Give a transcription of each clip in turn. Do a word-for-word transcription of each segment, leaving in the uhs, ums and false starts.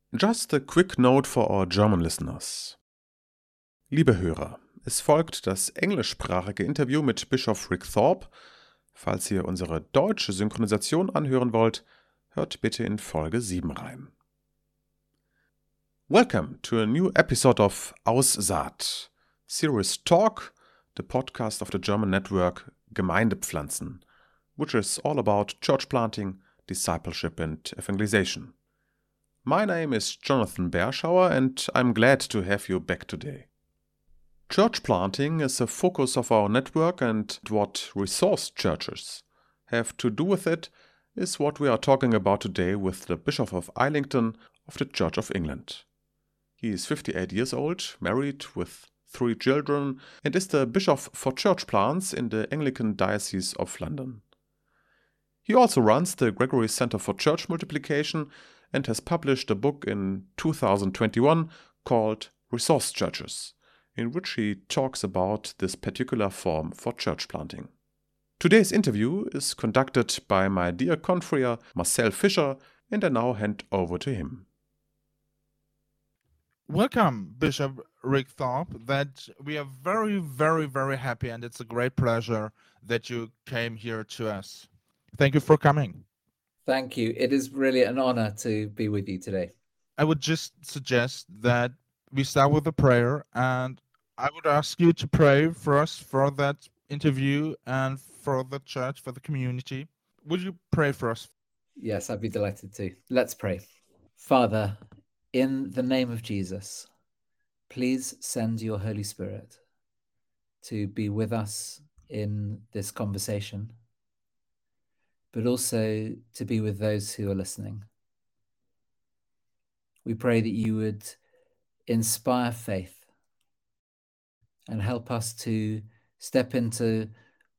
Just a quick note for our German listeners. Liebe Hörer, es folgt das englischsprachige Interview mit Bischof Rick Thorpe. Falls ihr unsere deutsche Synchronisation anhören wollt, hört bitte in Folge sieben rein. Welcome to a new episode of Aussaat, Serious Talk, the podcast of the German network Gemeindepflanzen, which is all about church planting, discipleship and evangelization. My name is Jonathan Berschauer and I'm glad to have you back today. Church planting is a focus of our network, and what resource churches have to do with it is what we are talking about today with the Bishop of Islington of the Church of England. He is fifty-eight years old, married with three children, and is the Bishop for Church Plants in the Anglican Diocese of London. He also runs the Gregory Center for Church Multiplication and has published a book in two thousand twenty-one called Resource Churches, in which he talks about this particular form for church planting. Today's interview is conducted by my dear confrere Marcel Fischer, and I now hand over to him. Welcome, Bishop Rick Thorpe. That we are very, very, very happy, and it's a great pleasure that you came here to us. Thank you for coming. Thank you. It is really an honor to be with you today. I would just suggest that we start with a prayer, and I would ask you to pray for us for that interview and for the church, for the community. Would you pray for us? Yes, I'd be delighted to. Let's pray. Father, in the name of Jesus, please send your Holy Spirit to be with us in this conversation, but also to be with those who are listening. We pray that you would inspire faith and help us to step into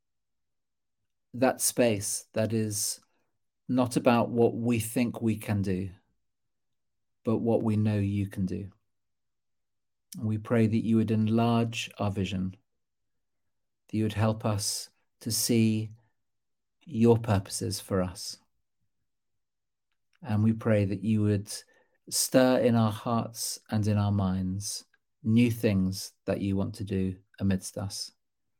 that space that is not about what we think we can do, but what we know you can do. And we pray that you would enlarge our vision, that you would help us to see your purposes for us. And we pray that you would stir in our hearts and in our minds new things that you want to do amidst us.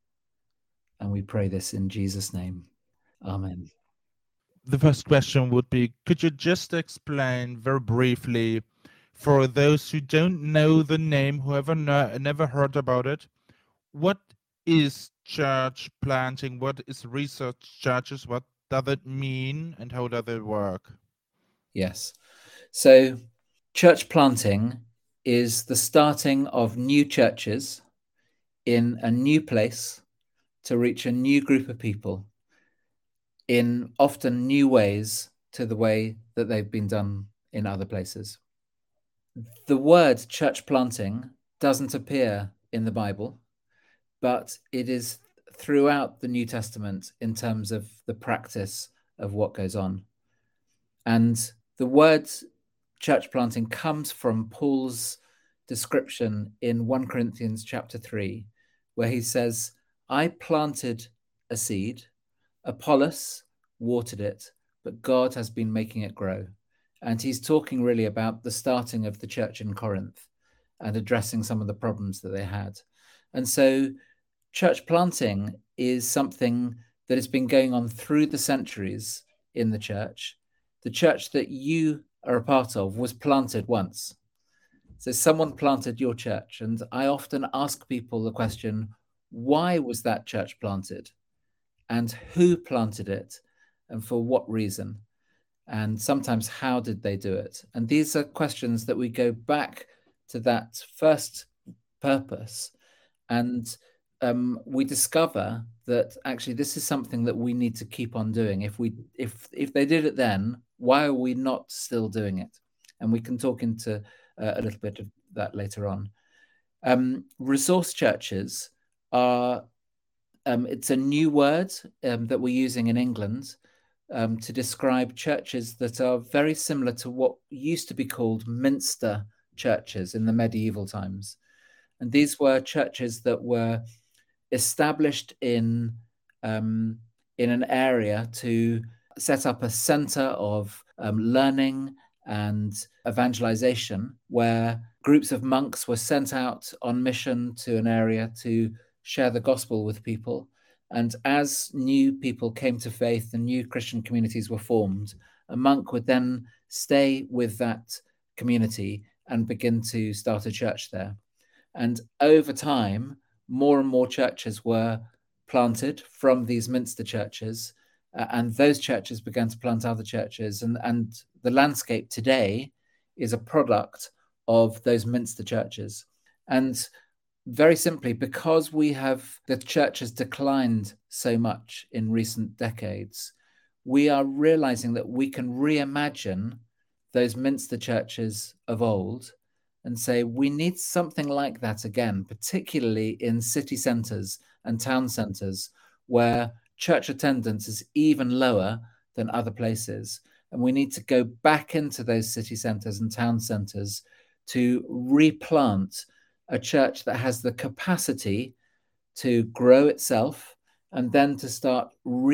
And we pray this in Jesus' name. Amen. The first question would be, could you just explain very briefly, for those who don't know the name, who have no, never heard about it, what is church planting? What is research churches? What does it mean and how does it work? Yes. So church planting is the starting of new churches in a new place to reach a new group of people in often new ways to the way that they've been done in other places. The word church planting doesn't appear in the Bible, but it is throughout the New Testament in terms of the practice of what goes on. And the word church planting comes from Paul's description in First Corinthians chapter three, where he says, I planted a seed, Apollos watered it, but God has been making it grow. And he's talking really about the starting of the church in Corinth and addressing some of the problems that they had. And so church planting is something that has been going on through the centuries in the church. The church that you are a part of was planted once. So someone planted your church. And I often ask people the question, why was that church planted? And who planted it? And for what reason? And sometimes, how did they do it? And these are questions that we go back to that first purpose. And um, we discover that actually this is something that we need to keep on doing. If we, if if they did it then, why are we not still doing it? And we can talk into uh, a little bit of that later on. Um, resource churches are, um, it's a new word um, that we're using in England um, to describe churches that are very similar to what used to be called Minster churches in the medieval times. And these were churches that were established in um, in an area to set up a center of um, learning and evangelization, where groups of monks were sent out on mission to an area to share the gospel with people. And as new people came to faith and new Christian communities were formed, a monk would then stay with that community and begin to start a church there. And over time, more and more churches were planted from these Minster churches, uh, and those churches began to plant other churches. And, and the landscape today is a product of those Minster churches. And very simply, because we have, the church has declined so much in recent decades, we are realizing that we can reimagine those Minster churches of old and say we need something like that again, particularly in city centres and town centres where church attendance is even lower than other places. And we need to go back into those city centres and town centres to replant a church that has the capacity to grow itself and then to start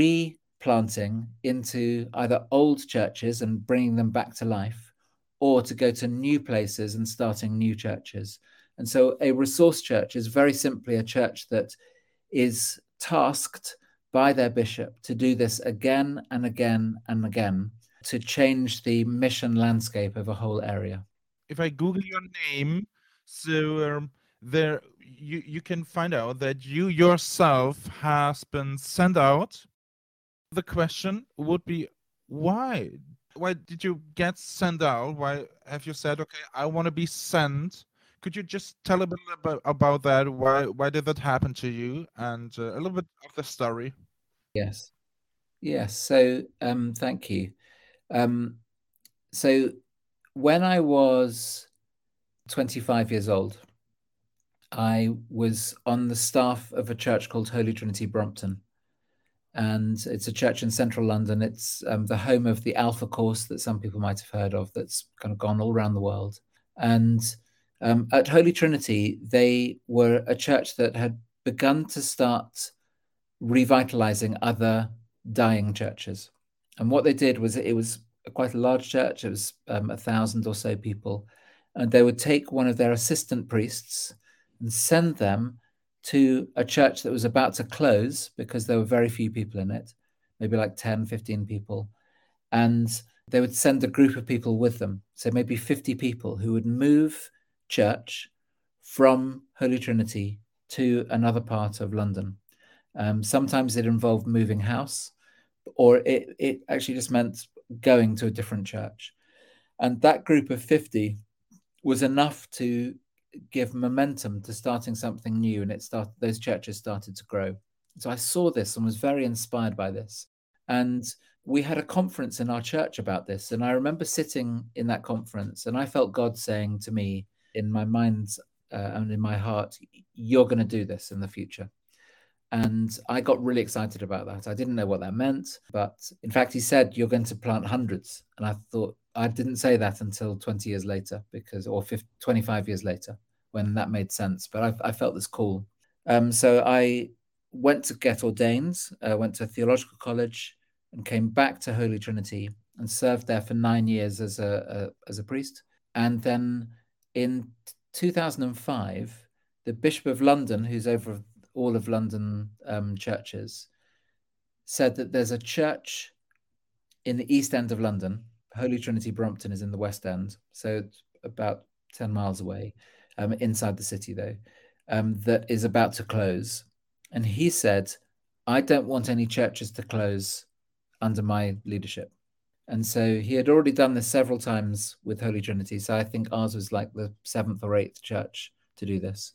replanting into either old churches and bringing them back to life, or to go to new places and starting new churches. And so a resource church is very simply a church that is tasked by their bishop to do this again and again and again, to change the mission landscape of a whole area. If I Google your name, so um, there you, you can find out that you yourself has been sent out. The question would be, why? Why did you get sent out? Why have you said, okay, I want to be sent? Could you just tell a bit about, about that? Why why did that happen to you? And uh, a little bit of the story. Yes. Yes. So um, thank you. Um, so when I was twenty-five years old, I was on the staff of a church called Holy Trinity Brompton. And it's a church in central London. It's um, the home of the Alpha Course that some people might have heard of, that's kind of gone all around the world. And um, at Holy Trinity, they were a church that had begun to start revitalizing other dying churches. And what they did was, it was quite a large church. It was um, a thousand or so people. And they would take one of their assistant priests and send them to a church that was about to close because there were very few people in it, maybe like ten, fifteen people. And they would send a group of people with them. So maybe fifty people who would move church from Holy Trinity to another part of London. Um, sometimes it involved moving house, or it, it actually just meant going to a different church. And that group of fifty was enough to give momentum to starting something new, and it started, those churches started to grow. So I saw this and was very inspired by this. And we had a conference in our church about this. And I remember sitting in that conference and I felt God saying to me in my mind uh, and in my heart, you're going to do this in the future. And I got really excited about that. I didn't know what that meant, but in fact, he said, you're going to plant hundreds. And I thought, I didn't say that until twenty years later, because, or fifty, twenty-five years later, when that made sense. But I, I felt this call. Um, so I went to get ordained, uh, went to theological college, and came back to Holy Trinity and served there for nine years as a, a as a priest. And then in two thousand five, the Bishop of London, who's over all of London um, churches, said that there's a church in the East End of London. Holy Trinity Brompton is in the West End, so it's about ten miles away, um, inside the city though, um, that is about to close. And he said, I don't want any churches to close under my leadership. And so he had already done this several times with Holy Trinity. So I think ours was like the seventh or eighth church to do this.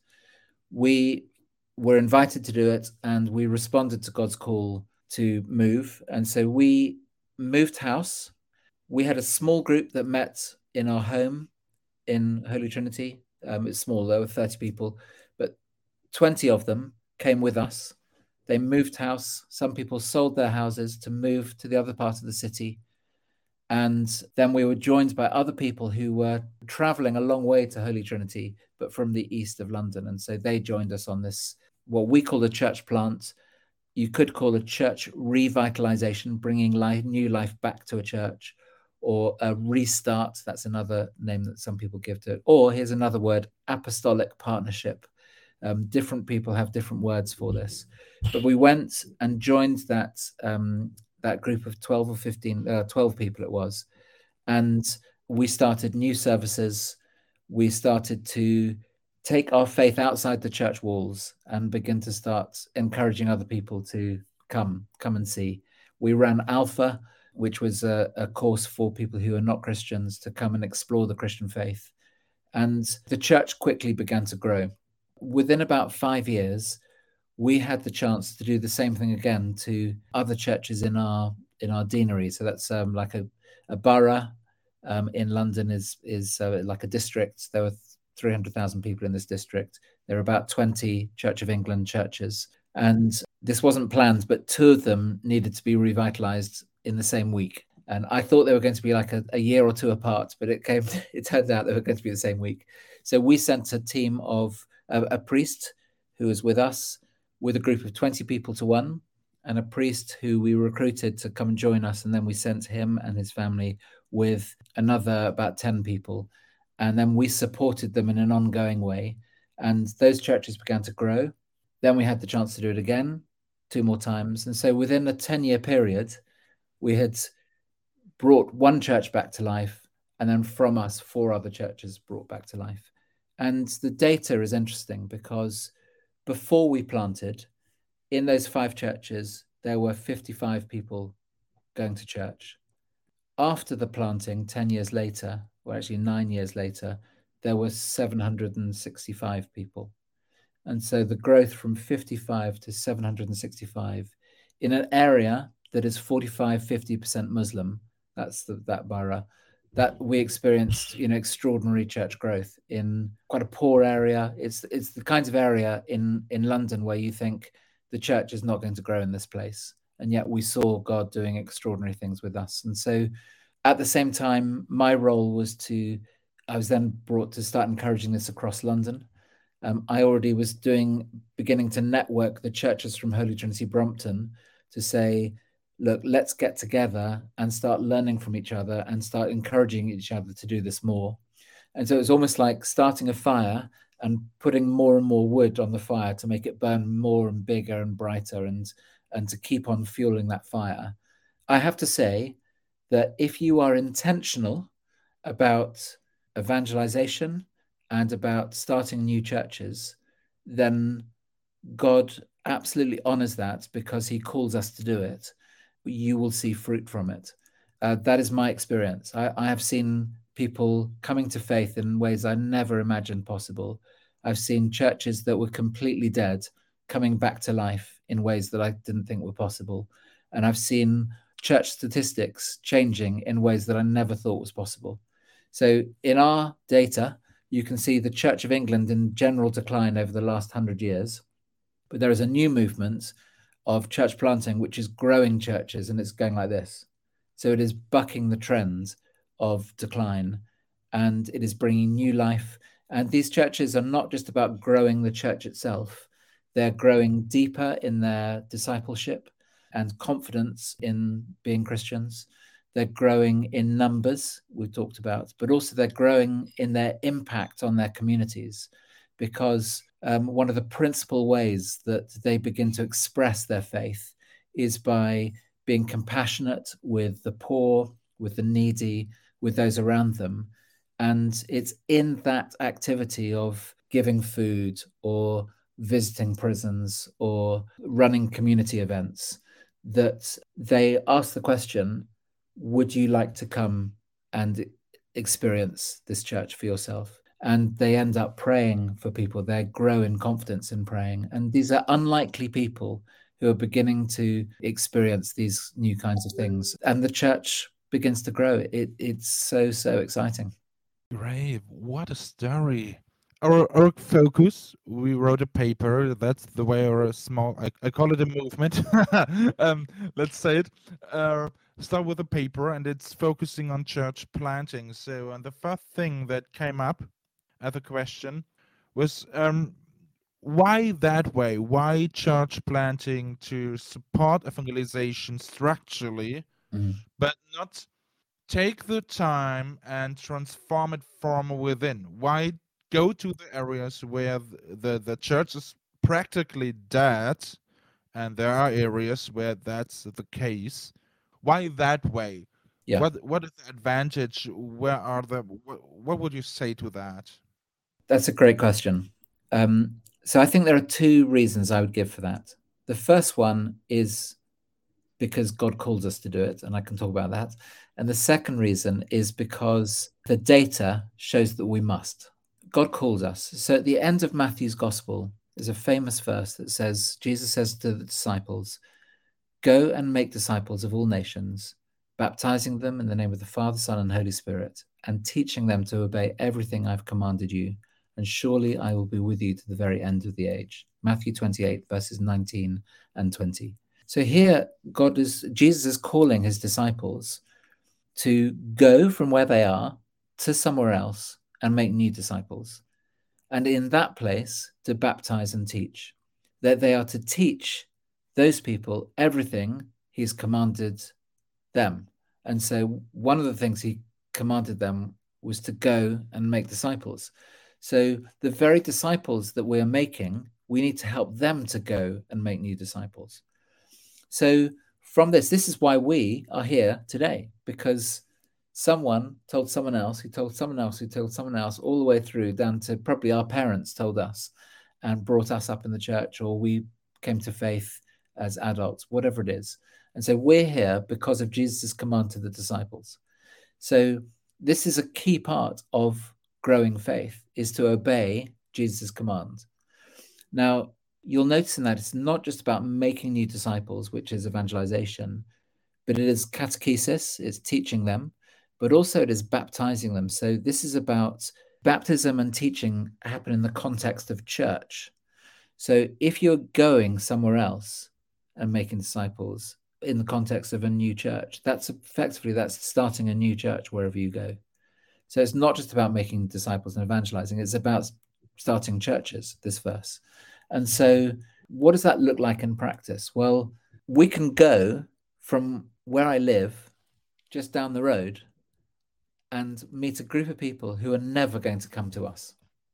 We were invited to do it, and we responded to God's call to move. And so we moved house. We had a small group that met in our home in Holy Trinity. Um, it's small, there were thirty people, but twenty of them came with us. They moved house. Some people sold their houses to move to the other part of the city. And then we were joined by other people who were traveling a long way to Holy Trinity, but from the east of London. And so they joined us on this, what we call a church plant. You could call a church revitalization, bringing life, new life back to a church. or a restart. That's another name that some people give to it. Or here's another word, apostolic partnership. Um, different people have different words for this. But we went and joined that um, that group of twelve or fifteen, uh, twelve people it was. And we started new services. We started to take our faith outside the church walls and begin to start encouraging other people to come, come and see. We ran Alpha, which was a, a course for people who are not Christians to come and explore the Christian faith. And the church quickly began to grow. Within about five years, we had the chance to do the same thing again to other churches in our in our deanery. So that's um, like a, a borough um, in London is is uh, like a district. There were three hundred thousand people in this district. There are about twenty Church of England churches. And this wasn't planned, but two of them needed to be revitalized in the same week. And I thought they were going to be like a, a year or two apart, but it came. It turned out they were going to be the same week. So we sent a team of a, a priest who was with us, with a group of twenty people to one, and a priest who we recruited to come and join us. And then we sent him and his family with another about ten people. And then we supported them in an ongoing way. And those churches began to grow. Then we had the chance to do it again, two more times. And so within a ten-year period, we had brought one church back to life. And then from us, four other churches brought back to life. And the data is interesting because before we planted, in those five churches, there were fifty-five people going to church. After the planting, ten years later, or actually nine years later, there were seven hundred sixty-five people. And so the growth from fifty-five to seven hundred sixty-five in an area that is forty-five, fifty percent Muslim, that's the, that borough, that we experienced, you know, extraordinary church growth in quite a poor area. It's it's the kinds of area in, in London where you think the church is not going to grow in this place. And yet we saw God doing extraordinary things with us. And so at the same time, my role was to, I was then brought to start encouraging this across London. Um, I already was doing, beginning to network the churches from Holy Trinity Brompton to say, look, let's get together and start learning from each other and start encouraging each other to do this more. And so it was almost like starting a fire and putting more and more wood on the fire to make it burn more and bigger and brighter and, and to keep on fueling that fire. I have to say that if you are intentional about evangelization and about starting new churches, then God absolutely honors that because he calls us to do it. You will see fruit from it. Uh, that is my experience. I, I have seen people coming to faith in ways I never imagined possible. I've seen churches that were completely dead coming back to life in ways that I didn't think were possible. And I've seen church statistics changing in ways that I never thought was possible. So in our data, you can see the Church of England in general decline over the last hundred years. But there is a new movement of church planting, which is growing churches, and it's going like this. So it is bucking the trend of decline, and it is bringing new life. And these churches are not just about growing the church itself. They're growing deeper in their discipleship and confidence in being Christians. They're growing in numbers, we've talked about, but also they're growing in their impact on their communities, because um, one of the principal ways that they begin to express their faith is by being compassionate with the poor, with the needy, with those around them. And it's in that activity of giving food or visiting prisons or running community events that they ask the question, would you like to come and experience this church for yourself? And they end up praying for people. They grow in confidence in praying. And these are unlikely people who are beginning to experience these new kinds of things. And the church begins to grow. It, it's so, so exciting. Great. What a story. Our, our focus, we wrote a paper. That's the way our small, I, I call it a movement. um, let's say it. Uh, start with a paper, and it's focusing on church planting. So, and the first thing that came up as a question was, um, why that way? Why church planting to support evangelization structurally, mm. but not take the time and transform it from within? Why go to the areas where the, the church is practically dead, and there are areas where that's the case? Why that way? Yeah. What what is the advantage? Where are the what, what would you say to that? That's a great question. Um, so I think there are two reasons I would give for that. The first one is because God calls us to do it, and I can talk about that. And the second reason is because the data shows that we must. God calls us. So at the end of Matthew's gospel, there's a famous verse that says, Jesus says to the disciples, "Go and make disciples of all nations, baptizing them in the name of the Father, Son, and Holy Spirit, and teaching them to obey everything I've commanded you. And surely I will be with you to the very end of the age." Matthew twenty-eight, verses nineteen and twenty. So here, God is, Jesus is calling his disciples to go from where they are to somewhere else and make new disciples. And in that place, to baptize and teach. That they are to teach those people everything he's commanded them. And so one of the things he commanded them was to go and make disciples. So the very disciples that we are making, we need to help them to go and make new disciples. So from this, this is why we are here today, because someone told someone else, who told someone else, who told someone else, all the way through down to probably our parents told us and brought us up in the church, or we came to faith as adults, whatever it is. And so we're here because of Jesus' command to the disciples. So this is a key part of growing faith, is to obey Jesus' command. Now, you'll notice in that it's not just about making new disciples, which is evangelization, but it is catechesis, it's teaching them, but also it is baptizing them. So this is about baptism and teaching happen in the context of church. So if you're going somewhere else and making disciples in the context of a new church, that's effectively, that's starting a new church wherever you go. So it's not just about making disciples and evangelizing, it's about starting churches, this verse. And so what does that look like in practice? Well, we can go from where I live just down the road and meet a group of people who are never going to come to us.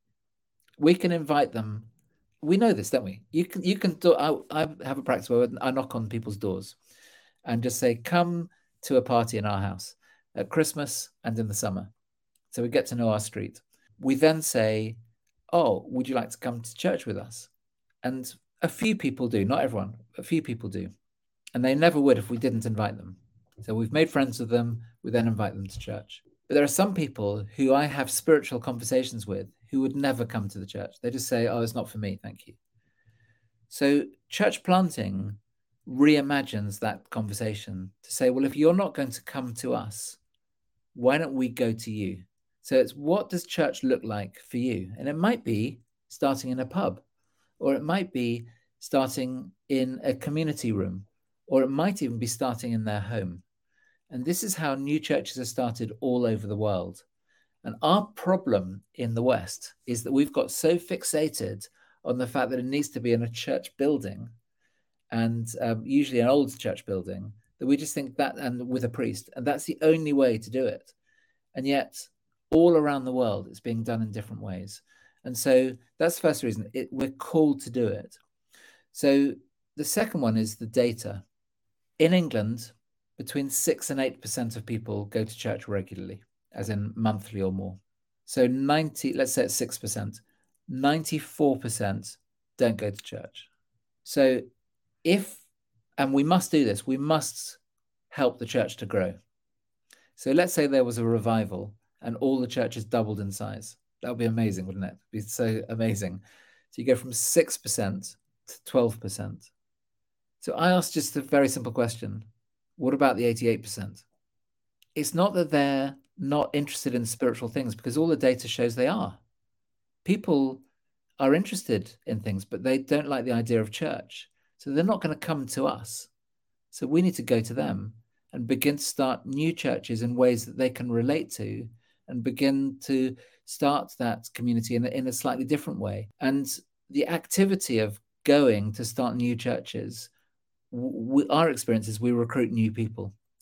We can invite them. We know this, don't we? You can, you can do, I, I have a practice where I knock on people's doors and just say, come to a party in our house at Christmas and in the summer. So we get to know our street. We then say, oh, would you like to come to church with us? And a few people do, not everyone, a few people do. And they never would if we didn't invite them. So we've made friends with them, we then invite them to church. But there are some people who I have spiritual conversations with who would never come to the church. They just say, oh, it's not for me, thank you. So church planting reimagines that conversation to say, well, if you're not going to come to us, why don't we go to you? So it's, what does church look like for you? And it might be starting in a pub, or it might be starting in a community room, or it might even be starting in their home. And this is how new churches are started all over the world. And our problem in the West is that we've got so fixated on the fact that it needs to be in a church building, and um, usually an old church building, that we just think that, and with a priest, and that's the only way to do it. And yet all around the world, it's being done in different ways. And so that's the first reason, it, we're called to do it. So the second one is the data. In England, between six and eight percent of people go to church regularly, as in monthly or more. So ninety, let's say it's six percent, ninety-four percent don't go to church. So if, and we must do this, we must help the church to grow. So let's say there was a revival and all the churches doubled in size. That would be amazing, wouldn't it? It'd be so amazing. So you go from six percent to twelve percent. So I asked just a very simple question. What about the eighty-eight percent? It's not that they're not interested in spiritual things, because all the data shows they are. People are interested in things, but they don't like the idea of church. So they're not going to come to us. So we need to go to them and begin to start new churches in ways that they can relate to, and begin to start that community in a, in a slightly different way. And the activity of going to start new churches, we, our experience is we recruit new people.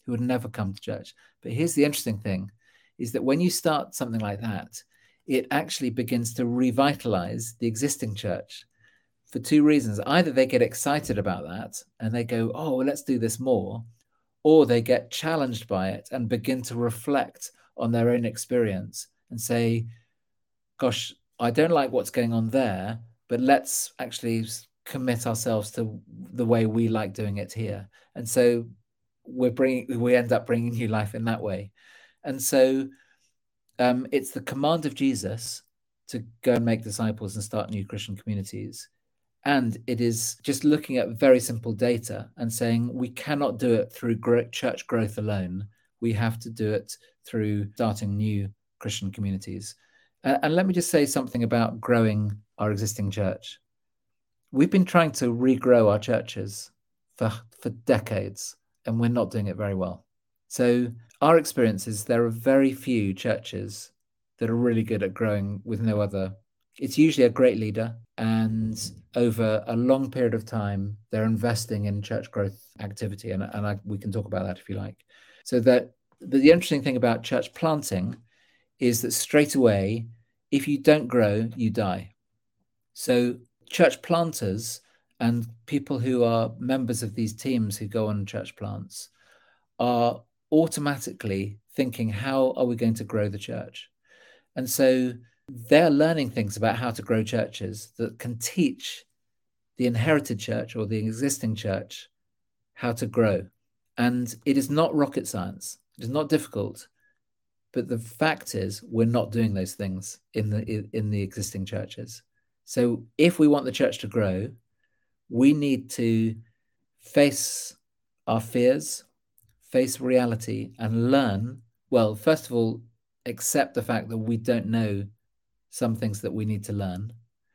who would never come to church. But here's the interesting thing, is that when you start something like that, it actually begins to revitalize the existing church for two reasons. Either they get excited about that and they go, oh, well, let's do this more, or they get challenged by it and begin to reflect on their own experience and say, gosh, I don't like what's going on there, but let's actually commit ourselves to the way we like doing it here. And so we're bringing, we end up bringing new life in that way. And so um, it's the command of Jesus to go and make disciples and start new Christian communities. And it is just looking at very simple data and saying we cannot do it through church growth alone. We have to do it through starting new Christian communities. Uh, and let me just say something about growing our existing church. We've been trying to regrow our churches for, for decades, and we're not doing it very well. So our experience is there are very few churches that are really good at growing with no other. It's usually a great leader, and over a long period of time, they're investing in church growth activity. And, and I, we can talk about that if you like. So that the, the interesting thing about church planting is that straight away, if you don't grow, you die. So church planters and people who are members of these teams who go on church plants are automatically thinking, how are we going to grow the church? And so they're learning things about how to grow churches that can teach the inherited church or the existing church how to grow. And it is not rocket science. It is not difficult. But the fact is, we're not doing those things in the in the existing churches. So if we want the church to grow, we need to face our fears, face reality, and learn. Well, first of all, accept the fact that we don't know some things that we need to learn,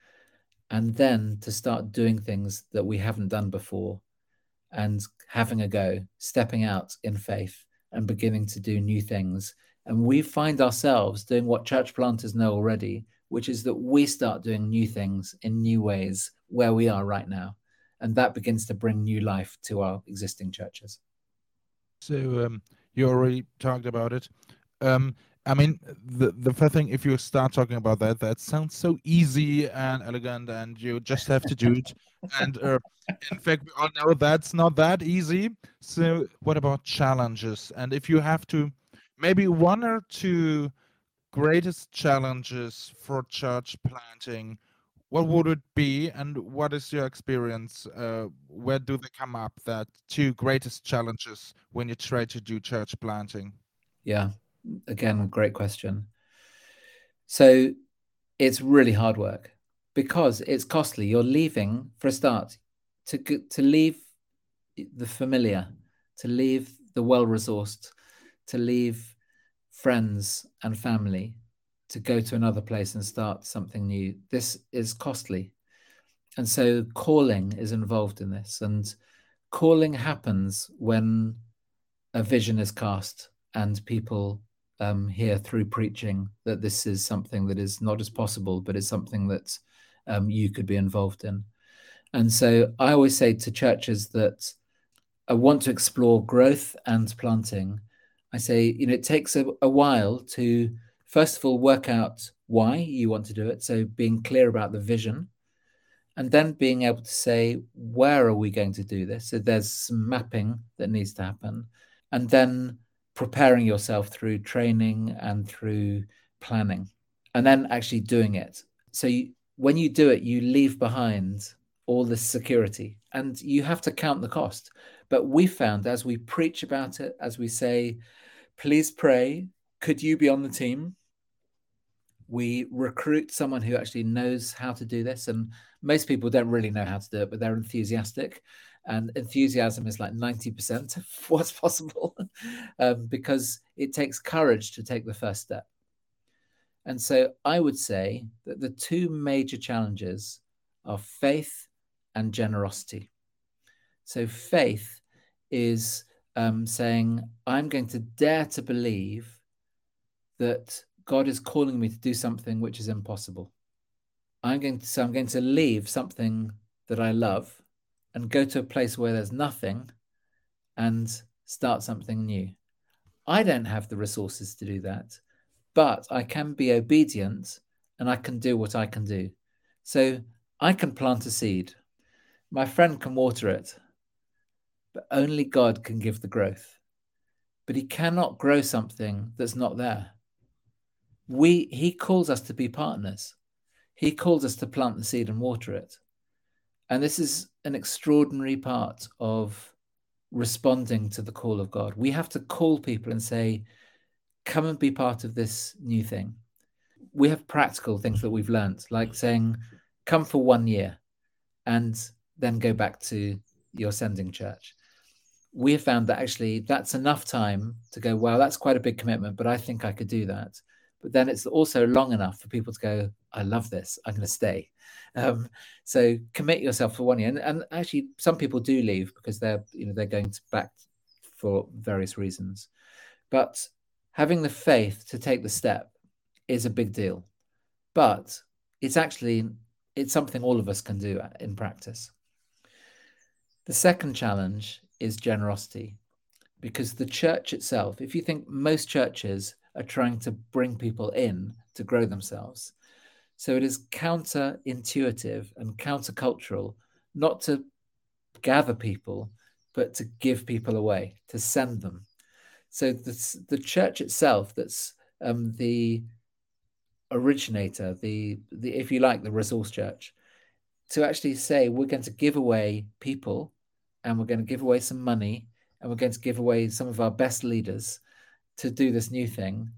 and then to start doing things that we haven't done before and having a go, stepping out in faith and beginning to do new things. And we find ourselves doing what church planters know already, which is that we start doing new things in new ways where we are right now. And that begins to bring new life to our existing churches. So um, you already talked about it. Um, I mean, the, the first thing, if you start talking about that, that sounds so easy and elegant and you just have to do it. And uh, in fact, we all know that's not that easy. So what about challenges? And if you have to, maybe one or two greatest challenges for church planting, what would it be? And what is your experience? Uh, where do they come up, that two greatest challenges when you try to do church planting? Yeah. Again, great question. So it's really hard work because it's costly. You're leaving, for a start, to to leave the familiar, to leave the well-resourced, to leave friends and family, to go to another place and start something new. This is costly. And so calling is involved in this. And calling happens when a vision is cast and people Um, hear through preaching that this is something that is not as possible, but is something that um, you could be involved in. And so I always say to churches that I want to explore growth and planting, I say, you know, it takes a, a while to, first of all, work out why you want to do it. So being clear about the vision, and then being able to say, where are we going to do this? So there's some mapping that needs to happen. And then preparing yourself through training and through planning, and then actually doing it. So you, when you do it, you leave behind all this security and you have to count the cost. But we found, as we preach about it, as we say, please pray, could you be on the team? We recruit someone who actually knows how to do this. And most people don't really know how to do it, but they're enthusiastic. And enthusiasm is like ninety percent of what's possible um, because it takes courage to take the first step. And so I would say that the two major challenges are faith and generosity. So faith is um, saying, I'm going to dare to believe that God is calling me to do something which is impossible. I'm going to, so I'm going to leave something that I love and go to a place where there's nothing and start something new. I don't have the resources to do that, but I can be obedient and I can do what I can do. So I can plant a seed. My friend can water it, but only God can give the growth. But he cannot grow something that's not there. We, he calls us to be partners. He calls us to plant the seed and water it. And this is an extraordinary part of responding to the call of God. We have to call people and say, come and be part of this new thing. We have practical things that we've learned, like saying, come for one year and then go back to your sending church. We have found that actually that's enough time to go, wow, that's quite a big commitment, but I think I could do that. But then it's also long enough for people to go, I love this, I'm going to stay. Um, so commit yourself for one year. And, and actually, some people do leave because they're, you know, they're going to back for various reasons. But having the faith to take the step is a big deal. But it's actually, it's something all of us can do in practice. The second challenge is generosity, because the church itself, if you think most churches are trying to bring people in to grow themselves. So it is counterintuitive and countercultural not to gather people, but to give people away, to send them. So the, the church itself, that's um, the originator, the, the, if you like, the resource church, to actually say we're going to give away people and we're going to give away some money and we're going to give away some of our best leaders to do this new thing,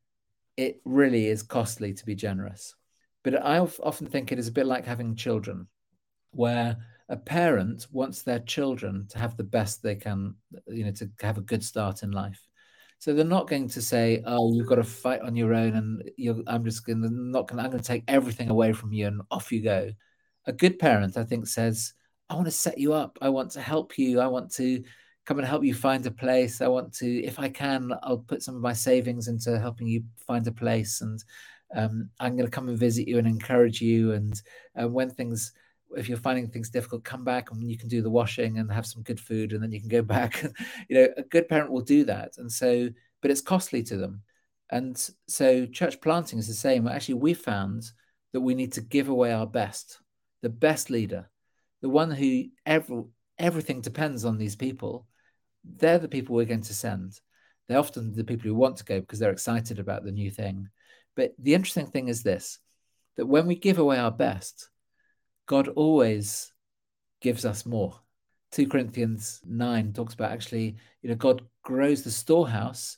it really is costly to be generous. But I often think it is a bit like having children, where a parent wants their children to have the best they can, you know, to have a good start in life. So they're not going to say, "Oh, you've got to fight on your own," and you're, I'm just going to not going. I'm going to take everything away from you, and off you go. A good parent, I think, says, "I want to set you up. I want to help you. I want to come and help you find a place. I want to, if I can, I'll put some of my savings into helping you find a place, and um, I'm going to come and visit you and encourage you. And uh, when things, if you're finding things difficult, come back and you can do the washing and have some good food, and then you can go back." You know, a good parent will do that. And so, but it's costly to them. And so church planting is the same. Actually, we found that we need to give away our best, the best leader, the one who every, everything depends on these people. They're the people we're going to send. They're often the people who want to go because they're excited about the new thing. But the interesting thing is this, that when we give away our best, God always gives us more. Second Corinthians nine talks about actually, you know, God grows the storehouse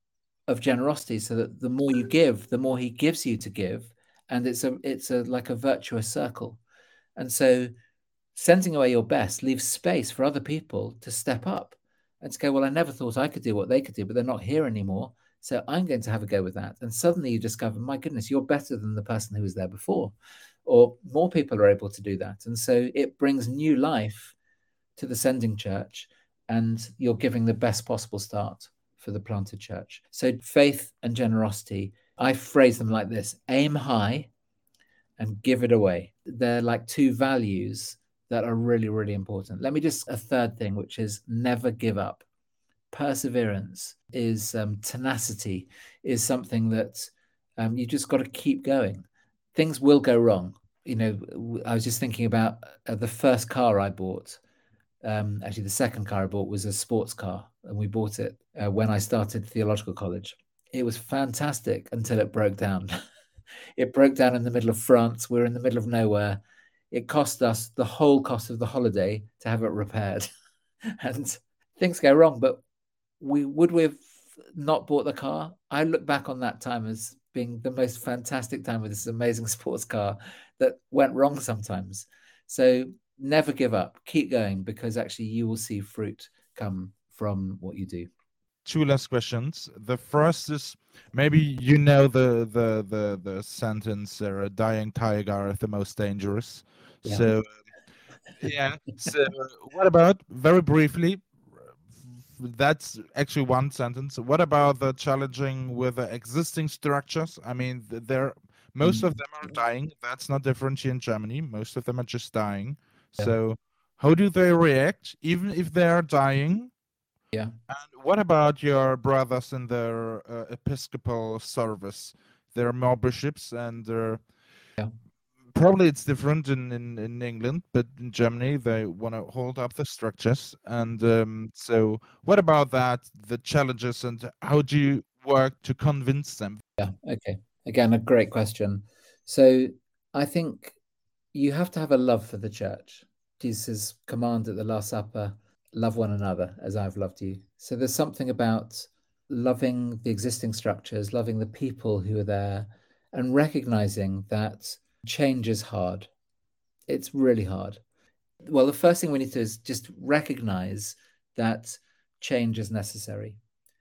of generosity so that the more you give, the more he gives you to give. And it's a it's a like a virtuous circle. And so sending away your best leaves space for other people to step up and to go, well, I never thought I could do what they could do, but they're not here anymore. So I'm going to have a go with that. And suddenly you discover, my goodness, you're better than the person who was there before. Or more people are able to do that. And so it brings new life to the sending church, and you're giving the best possible start for the planted church. So faith and generosity, I phrase them like this: aim high and give it away. They're like two values that are really, really important. Let me just, a third thing, which is never give up. Perseverance is um, tenacity, is something that um, you just got to keep going. Things will go wrong. You know, I was just thinking about uh, the first car I bought. Um, actually, the second car I bought was a sports car, and we bought it uh, when I started theological college. It was fantastic until it broke down. It broke down in the middle of France. We were in the middle of nowhere. It cost us the whole cost of the holiday to have it repaired. And things go wrong, but we would we have not bought the car? I look back on that time as being the most fantastic time with this amazing sports car that went wrong sometimes. So never give up, keep going, because actually you will see fruit come from what you do. Two last questions. The first is, maybe you know the the the the sentence, uh, "A dying tiger is the most dangerous." Yeah. So yeah. So what about, very briefly, that's actually one sentence. What about the challenging with the existing structures? I mean, they're most of them are dying. That's not different here in Germany. Most of them are just dying. Yeah. So how do they react, even if they are dying? Yeah. And what about your brothers in their uh, Episcopal service? There are more bishops, and there Yeah. probably it's different in, in, in England, but in Germany they want to hold up the structures. And um, so, what about that? The challenges, and how do you work to convince them? Yeah. Okay. Again, a great question. So I think you have to have a love for the church. Jesus' command at the Last Supper, love one another as I've loved you. So there's something about loving the existing structures, loving the people who are there, and recognizing that change is hard. It's really hard. Well, the first thing we need to do is just recognize that change is necessary.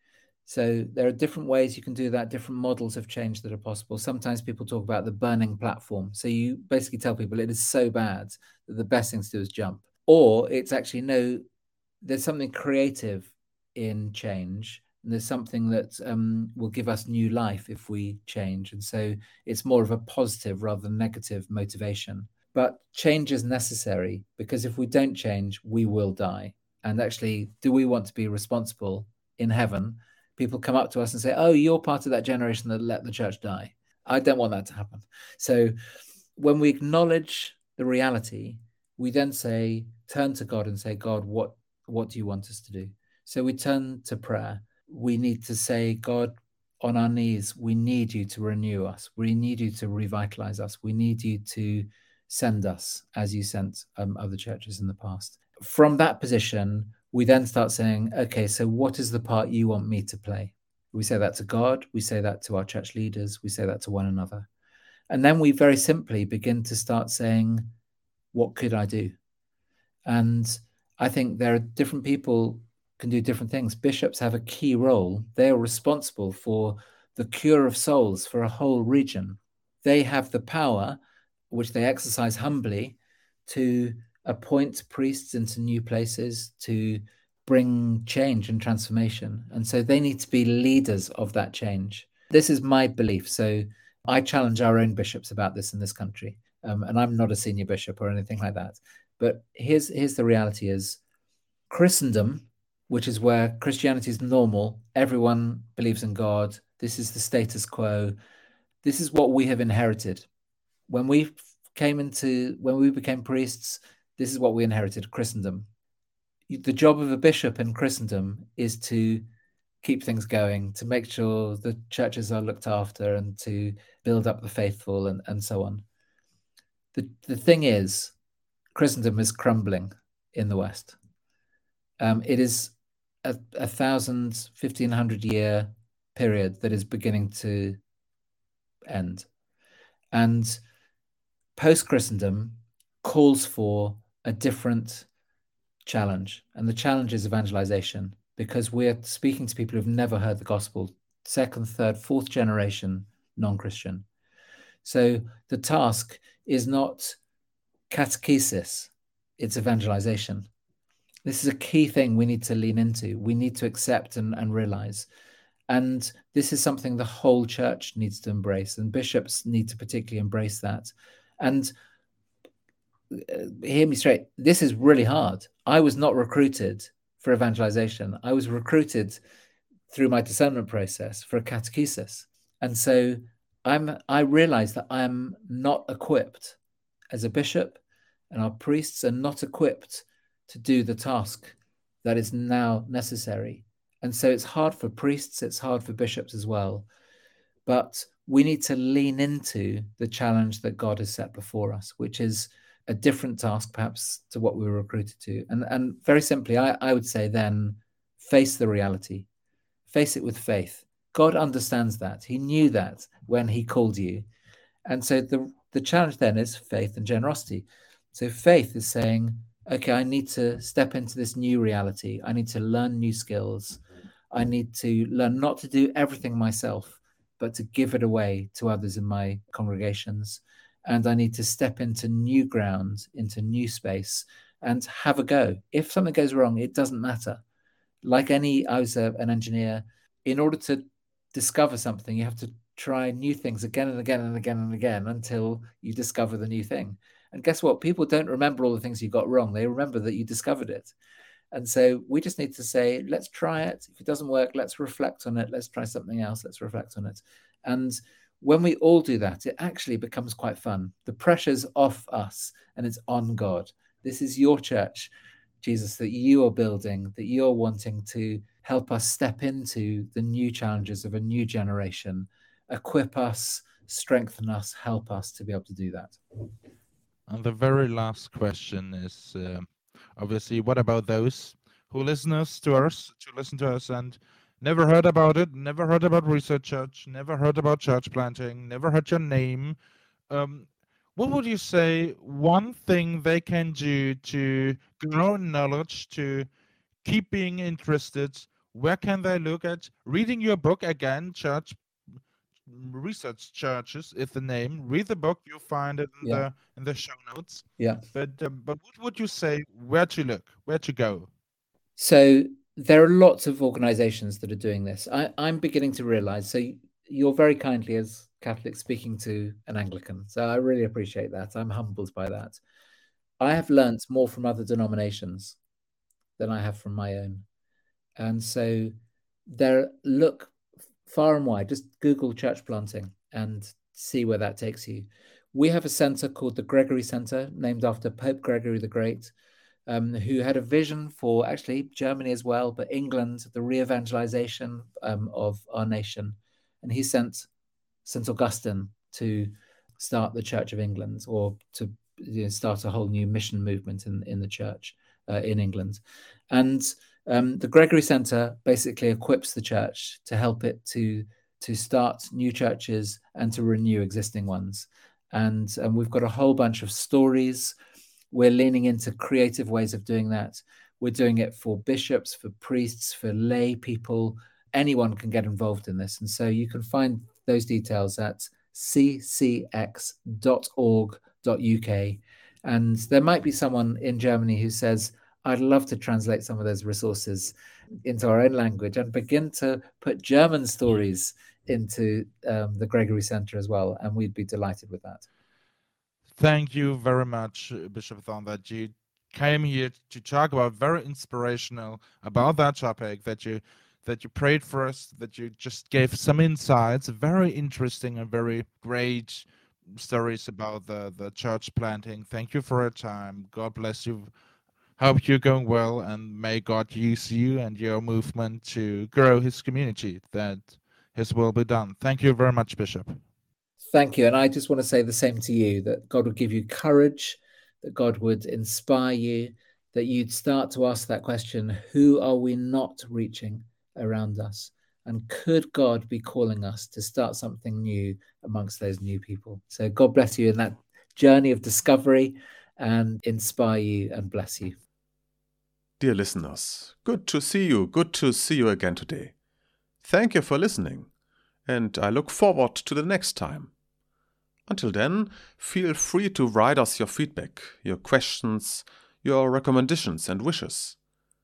So there are different ways you can do that, different models of change that are possible. Sometimes people talk about the burning platform. So you basically tell people it is so bad that the best thing to do is jump. Or it's actually, no, there's something creative in change. And there's something that um, will give us new life if we change. And so it's more of a positive rather than negative motivation. But change is necessary, because if we don't change, we will die. And actually, do we want to be responsible in heaven? People come up to us and say, oh, you're part of that generation that let the church die. I don't want that to happen. So when we acknowledge the reality, we then say, turn to God and say, God, what, what do you want us to do? So we turn to prayer. We need to say, God, on our knees, we need you to renew us. We need you to revitalize us. We need you to send us as you sent um, other churches in the past. From that position, we then start saying, okay, so what is the part you want me to play? We say that to God, we say that to our church leaders, we say that to one another. And then we very simply begin to start saying, what could I do? And I think there are different people can do different things. Bishops have a key role. They are responsible for the cure of souls for a whole region. They have the power, which they exercise humbly, to appoint priests into new places, to bring change and transformation. And so they need to be leaders of that change. This is my belief. So I challenge our own bishops about this in this country. Um, and I'm not a senior bishop or anything like that. But here's, here's the reality is Christendom, which is where Christianity is normal, everyone believes in God, this is the status quo, this is what we have inherited. When we came into, when we became priests, this is what we inherited, Christendom. The job of a bishop in Christendom is to keep things going, to make sure the churches are looked after and to build up the faithful and, and so on. The, the thing is, Christendom is crumbling in the West. Um, it is a, a thousand, fifteen hundred year period that is beginning to end. And post-Christendom calls for a different challenge. And the challenge is evangelization, because we're speaking to people who've never heard the gospel, second, third, fourth generation non-Christian. So the task is not catechesis, it's evangelization. This is a key thing we need to lean into. We need to accept and, and realize. And this is something the whole church needs to embrace, and bishops need to particularly embrace that. And uh, hear me straight, this is really hard. I was not recruited for evangelization. I was recruited through my discernment process for a catechesis. And so I'm, I realize that I'm not equipped as a bishop, and our priests are not equipped to do the task that is now necessary. And so it's hard for priests, it's hard for bishops as well. But we need to lean into the challenge that God has set before us, which is a different task perhaps to what we were recruited to. And, and very simply, I, I would say then, face the reality. Face it with faith. God understands that. He knew that when he called you. And so the, the challenge then is faith and generosity. So faith is saying, okay, I need to step into this new reality. I need to learn new skills. I need to learn not to do everything myself, but to give it away to others in my congregations. And I need to step into new ground, into new space, and have a go. If something goes wrong, it doesn't matter. Like any, I was a, an engineer. In order to discover something, you have to try new things again and again and again and again until you discover the new thing. And guess what? People don't remember all the things you got wrong. They remember that you discovered it. And so we just need to say, let's try it. If it doesn't work, let's reflect on it. Let's try something else. Let's reflect on it. And when we all do that, it actually becomes quite fun. The pressure's off us and it's on God. This is your church, Jesus, that you are building, that you're wanting to help us step into the new challenges of a new generation, equip us, strengthen us, help us to be able to do that. And the very last question is, uh, obviously, what about those who listen us to us, to listen to us and never heard about it, never heard about Research Church, never heard about church planting, never heard your name? Um, what would you say one thing they can do to grow in knowledge, to keep being interested? Where can they look at? Reading your book again, Church Research Churches is the name. Read the book, you'll find it in Yeah. the in the show notes. Yeah. But um, but what would you say? Where to look? Where to go? So there are lots of organizations that are doing this. I, I'm beginning to realize. So you're very kindly, as Catholic, speaking to an Anglican. So I really appreciate that. I'm humbled by that. I have learnt more from other denominations than I have from my own. And so there, look far and wide, just Google church planting and see where that takes you. We have a center called the Gregory Center, named after Pope Gregory the Great, um, who had a vision for actually Germany as well, but England, the re-evangelization um, of our nation. And he sent Saint Augustine to start the Church of England, or to you know, start a whole new mission movement in, in the church uh, in England. And um, the Gregory Center basically equips the church to help it to, to start new churches and to renew existing ones. And um, we've got a whole bunch of stories. We're leaning into creative ways of doing that. We're doing it for bishops, for priests, for lay people. Anyone can get involved in this. And so you can find those details at c c x dot org dot u k. And there might be someone in Germany who says, I'd love to translate some of those resources into our own language and begin to put German stories into um, the Gregory Center as well. And we'd be delighted with that. Thank you very much, Bishop Thorn, that you came here to talk about very inspirational about that topic, that you that you prayed for us, that you just gave some insights, very interesting and very great stories about the, the church planting. Thank you for your time. God bless you. Hope you're going well, and may God use you and your movement to grow his community, that his will be done. Thank you very much, Bishop. Thank you. And I just want to say the same to you, that God would give you courage, that God would inspire you, that you'd start to ask that question, who are we not reaching around us? And could God be calling us to start something new amongst those new people? So God bless you in that journey of discovery and inspire you and bless you. Dear listeners, good to see you, good to see you again today. Thank you for listening, and I look forward to the next time. Until then, feel free to write us your feedback, your questions, your recommendations and wishes.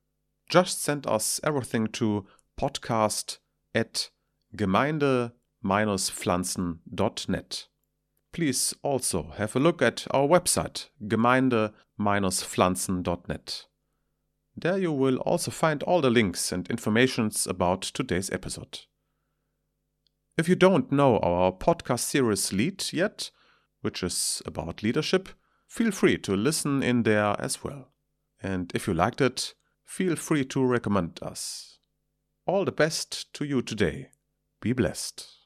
Just send us everything to podcast at gemeinde dash pflanzen dot net. Please also have a look at our website, gemeinde dash pflanzen dot net. There you will also find all the links and informations about today's episode. If you don't know our podcast series Lead yet, which is about leadership, feel free to listen in there as well. And if you liked it, feel free to recommend us. All the best to you today. Be blessed.